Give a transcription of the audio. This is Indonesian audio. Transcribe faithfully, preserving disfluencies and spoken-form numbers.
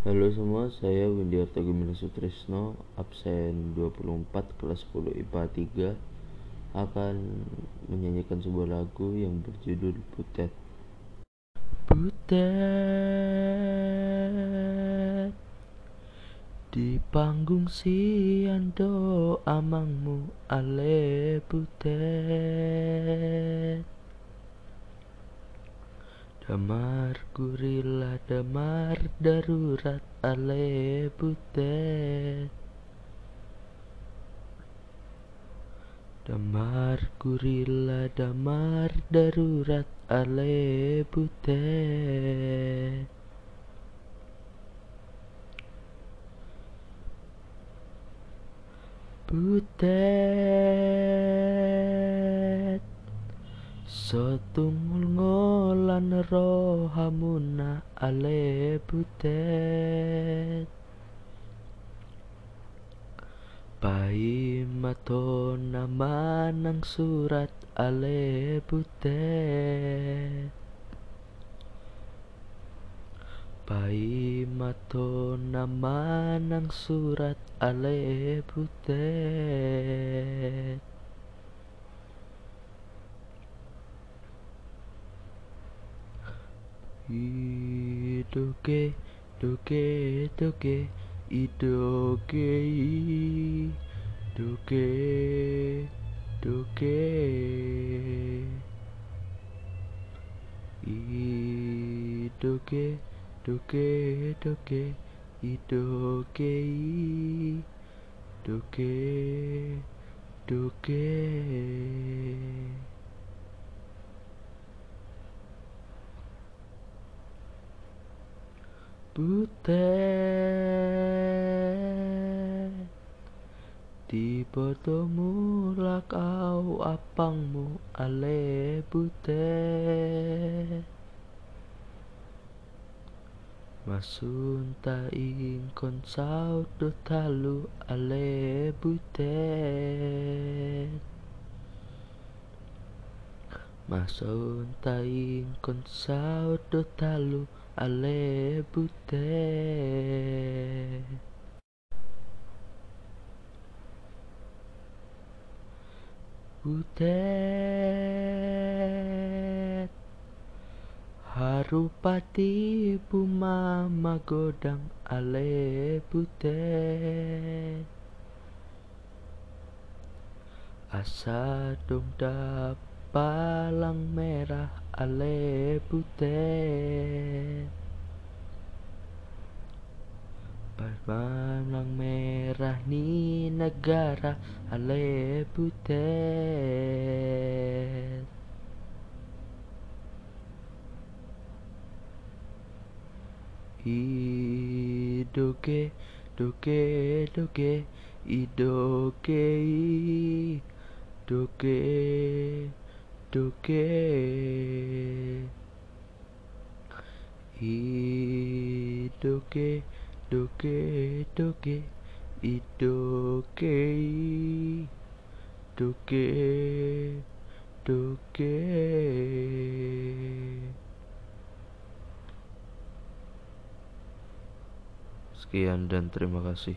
Halo semua, saya Windiarto Gumila Sutrisno, absen dua puluh empat kelas sepuluh I P A tiga, akan menyanyikan sebuah lagu yang berjudul Butet. Butet di panggung siando amangmu ale butet. Damar gurila damar darurat ale butet. Damar gurila damar darurat ale butet. Butet sotungul ngolan rohamuna ale butet. Pai matona manang surat ale butet. Pai matona manang surat ale butet. Idoge doge doge idoge doge doge idoge doge doge idoge doge doge. Butet di bodomu lakau apangmu ale butet. Masunta ingkon saut do talu ale butet. Masunta ingkon saut do talu ale butet. Butet harupati buma magodang ale butet. Asa dong palang merah ale butet. Palang merah ni negara ale butet. Idoge doge doge idoge doge doge idoge doge doge idoge doge doge. Sekian dan terima kasih.